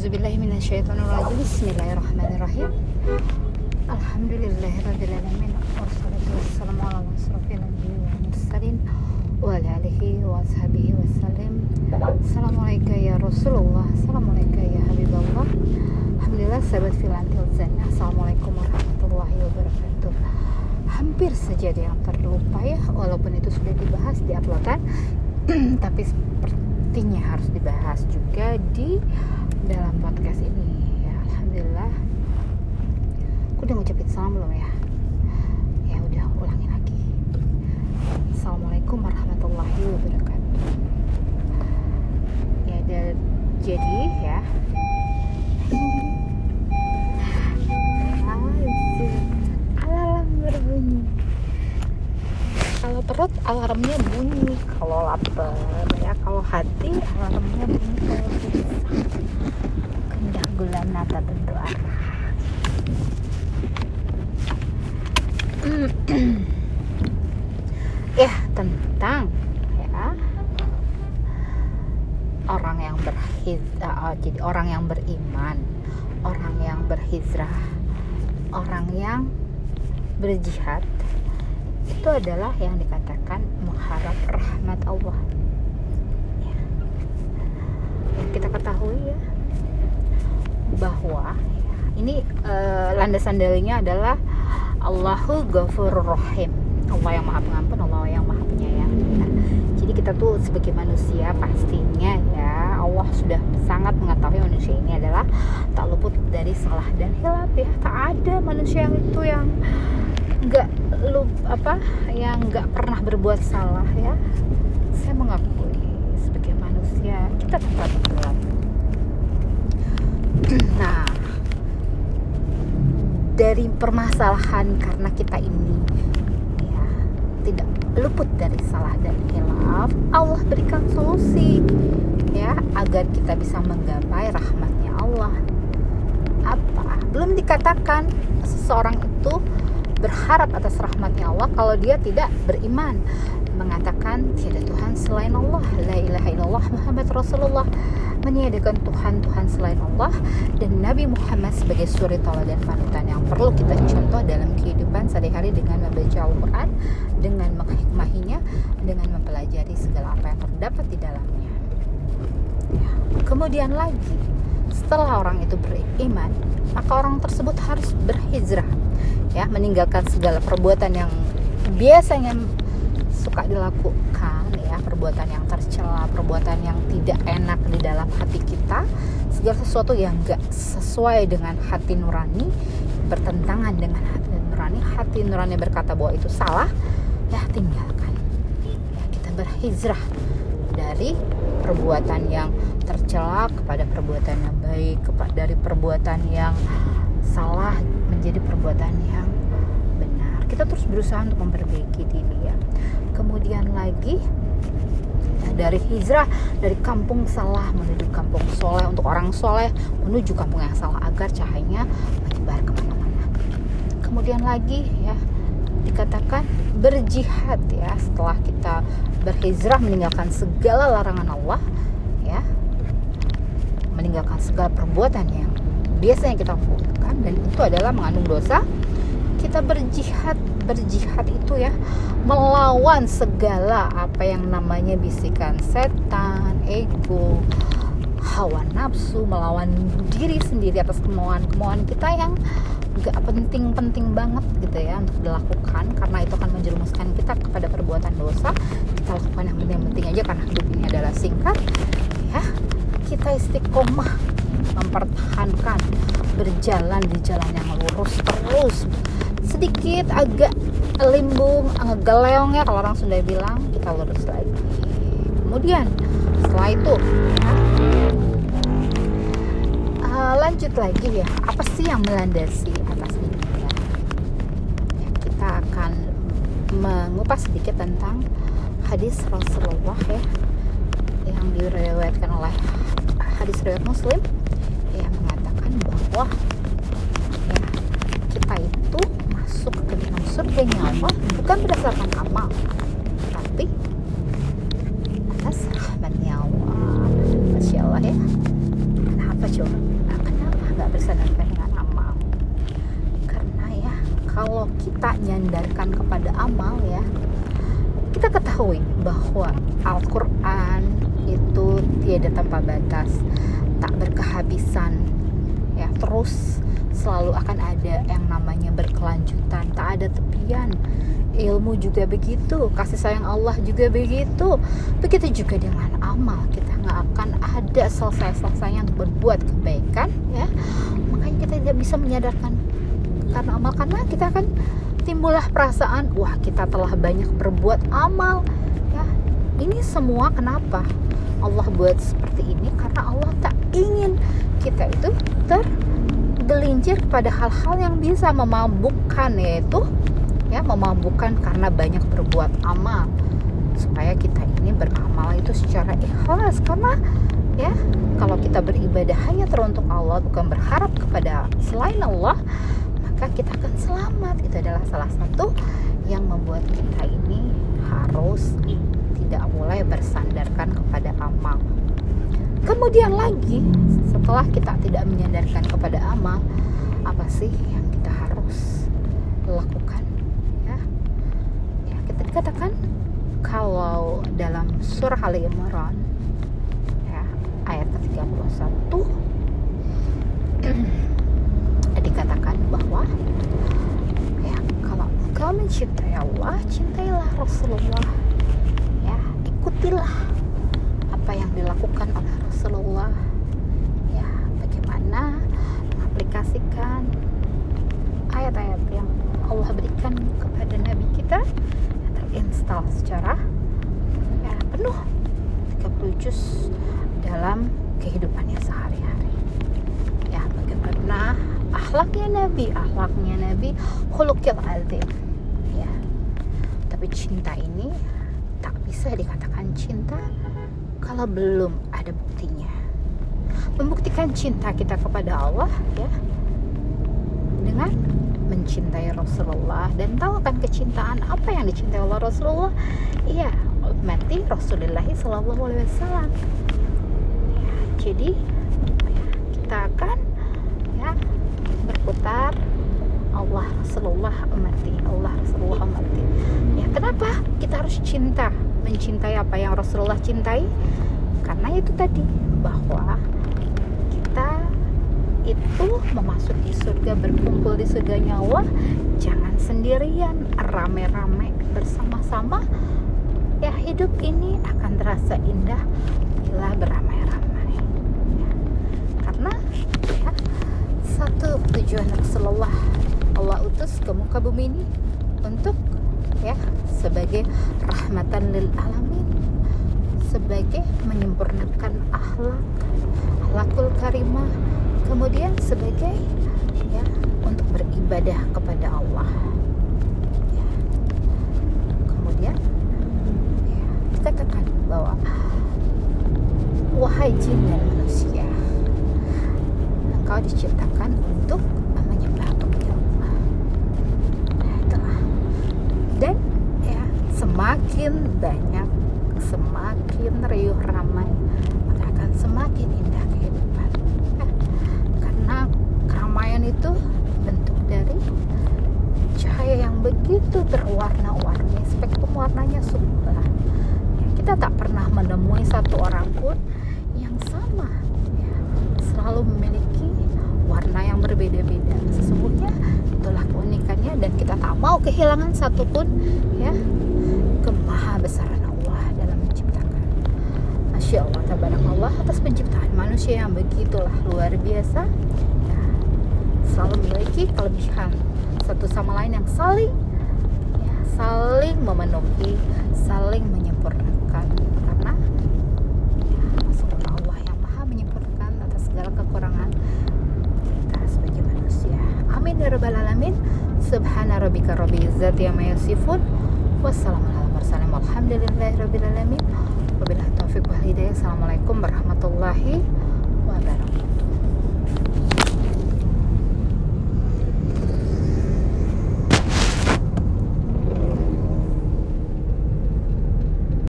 A'udzubillahi minasyaitonirrajim. Bismillahirrahmanirrahim. Alhamdulillahirabbil alamin. Wassalatu wassalamu ala asyrofil anbiya'i wal mursalin wa ala alihi wa ashabihi wasallam. Assalamualaikum ya Rasulullah. Assalamualaikum ya Habibullah. Alhamdulillah sahabat filantil zannah. Assalamualaikum warahmatullahi wabarakatuh. Hampir saja ada yang terlupa ya, walaupun itu sudah dibahas di uploadan tapi sepertinya harus dibahas juga di dalam podcast ini ya. Alhamdulillah. Aku udah ngucapin salam belum ya? Ya udah, ulangin lagi. Assalamualaikum warahmatullahi wabarakatuh. Ya jadi ya, alarm berbunyi. Kalau perut alarmnya bunyi, kalau lapar ya, kalau hati alarmnya bunyi, kalau susah kendak gula nata tentu arah. Ya, tentang ya orang yang jadi orang yang beriman, orang yang berhijrah, orang yang berjihad, itu adalah yang dikatakan mengharap rahmat Allah ya. Yang kita ketahui ya, bahwa ya, ini landasan dalilnya adalah Allahu Ghafurur Rahim, Allah yang maha pengampun, Allah yang maha penyayang ya. Jadi kita tuh sebagai manusia pastinya ya, Allah sudah sangat mengetahui manusia ini adalah tak luput dari salah dan hilaf ya. Tak ada manusia yang yang nggak pernah berbuat salah ya. Saya mengakui sebagai manusia kita tetap bersalah. Nah, dari permasalahan karena kita ini ya tidak luput dari salah dan hilaf, Allah berikan solusi ya agar kita bisa menggapai rahmatnya Allah. Apa? Belum dikatakan seseorang itu berharap atas rahmatnya Allah kalau dia tidak beriman, mengatakan tiada Tuhan selain Allah, la ilaha illallah Muhammad Rasulullah, meniadakan Tuhan selain Allah, dan Nabi Muhammad sebagai suri tauladan panutan yang perlu kita contoh dalam kehidupan sehari-hari dengan membaca Al-Quran, dengan menghikmahinya, dengan mempelajari segala apa yang terdapat di dalamnya. Kemudian lagi, setelah orang itu beriman, maka orang tersebut harus berhijrah ya, meninggalkan segala perbuatan yang biasanya suka dilakukan ya, perbuatan yang tercela, perbuatan yang tidak enak di dalam hati kita, segala sesuatu yang gak sesuai dengan hati nurani, bertentangan dengan hati nurani berkata bahwa itu salah ya, tinggalkan ya. Kita berhijrah dari perbuatan yang tercela kepada perbuatan yang baik, dari perbuatan yang salah menjadi perbuatan yang benar. Kita terus berusaha untuk memperbaiki diri ya. Kemudian lagi ya, dari hijrah dari kampung salah menuju kampung soleh, untuk orang soleh menuju kampung yang salah agar cahayanya menyebar kemana-mana. Kemudian lagi ya dikatakan berjihad ya, setelah kita berhijrah meninggalkan segala larangan Allah ya, meninggalkan segala perbuatan yang biasanya kita lakukan dan itu adalah mengandung dosa. Kita berjihad itu ya, melawan segala apa yang namanya bisikan setan, ego, hawa nafsu, melawan diri sendiri atas kemauan kita yang gak penting banget gitu ya untuk dilakukan, karena itu akan menjerumuskan kita kepada perbuatan dosa. Kita lakukan yang penting-penting aja karena hidup ini adalah singkat ya. Kita istiqomah mempertahankan berjalan di jalan yang lurus terus, sedikit agak limbung, agak geleong ya kalau orang Sunda bilang, kita lurus lagi. Kemudian setelah itu ya, lanjut lagi ya, apa sih yang melandasi atas ini ya? Kita akan mengupas sedikit tentang hadis Rasulullah ya, yang diriwayatkan oleh hadis riwayat Muslim yang mengatakan bahwa ya, kita itu masuk ke dalam surganya Allah bukan berdasarkan amal, tapi atas rahmatnya Allah. Masya Allah ya. Kenapa coba? bersandarkan dengan amal. Karena ya, kalau kita nyandarkan kepada amal ya, kita ketahui bahwa Al-Quran itu tiada tanpa batas, tak berkehabisan ya, terus selalu akan ada yang namanya berkelanjutan, tak ada tepian. Ilmu juga begitu, kasih sayang Allah juga begitu. Begitu juga dengan amal, kita nggak akan ada selesai-selesainya untuk berbuat kebaikan ya. Makanya kita tidak bisa menyadarkan karena amal, karena kita akan timbullah perasaan, wah kita telah banyak berbuat amal ya. Ini semua kenapa Allah buat seperti ini? Karena Allah tak ingin kita itu tergelincir pada hal-hal yang bisa memabukkan, yaitu ya, memabukkan karena banyak berbuat amal, supaya kita ini beramal itu secara ikhlas. Karena ya, kalau kita beribadah hanya teruntuk Allah, bukan berharap kepada selain Allah, maka kita akan selamat. Itu adalah salah satu yang membuat kita ini harus tidak boleh bersandarkan kepada amal. Kemudian lagi, setelah kita tidak menyandarkan kepada amal, apa sih yang kita harus lakukan? Kita dikatakan kalau dalam surah Ali Imran ya, ayat ke-31 dikatakan bahwa ya, kalau engkau mencintai Allah, cintailah Rasulullah ya, ikutilah apa yang dilakukan oleh Rasulullah ya, bagaimana mengaplikasikan ayat-ayat yang Allah berikan kepada Nabi kita, terinstall secara ya, penuh 30 juz dalam kehidupannya sehari-hari ya. Bagaimana akhlaknya Nabi khuluqil azim ya. Tapi cinta ini tak bisa dikatakan cinta kalau belum ada buktinya. Membuktikan cinta kita kepada Allah ya, dengan mencintai Rasulullah. Dan tahu kan kecintaan apa yang dicintai oleh Rasulullah? Iya, mati Rasulullah SAW ya. Jadi ya, kita akan ya berputar Allah Rasulullah amati, Allah Rasulullah amati ya. Kenapa kita harus mencintai apa yang Rasulullah cintai? Karena itu tadi, bahwa kita itu memasuki surga, berkumpul di surganya Allah, jangan sendirian, rame-rame bersama-sama ya. Hidup ini akan terasa indah bila beramai-ramai ya. Karena ya, satu tujuan Rasulullah Allah utus ke muka bumi ini untuk ya, sebagai rahmatan lil alamin, sebagai menyempurnakan akhlakul karimah, kemudian sebagai ya, untuk beribadah kepada Allah ya. Kemudian ya, dikatakan bahwa wahai jin dan manusia, engkau diciptakan untuk menyembah kepada Allah. Itulah. Dan ya, semakin banyak, semakin riuh ramai, maka akan semakin indah kehidupan. Karena keramaian itu bentuk dari cahaya yang begitu berwarna-warni, spektrum warnanya sumber ya. Kita tak pernah menemui satu orang pun yang sama ya, selalu memiliki warna yang berbeda-beda. Sesungguhnya itulah keunikannya, dan kita tak mau kehilangan satupun ya, kemahabesaran Allah dalam menciptakan. Masya Allah, tabarakallah atas penciptaan manusia yang begitulah luar biasa ya, selalu memiliki kelebihan satu sama lain yang saling memenuhi, saling menyempurnakan. Karena ya, semoga Allah yang maha menyempurnakan atas segala kekurangan kita sebagai manusia. Amin ya rabbal alamin. Subhana rabbika rabbil izzati amma yasifun, wassalamu ala mursalin, walhamdulillahi rabbil alamin. Wabillahi taufiq wal hidayah. Assalamualaikum warahmatullahi wabarakatuh.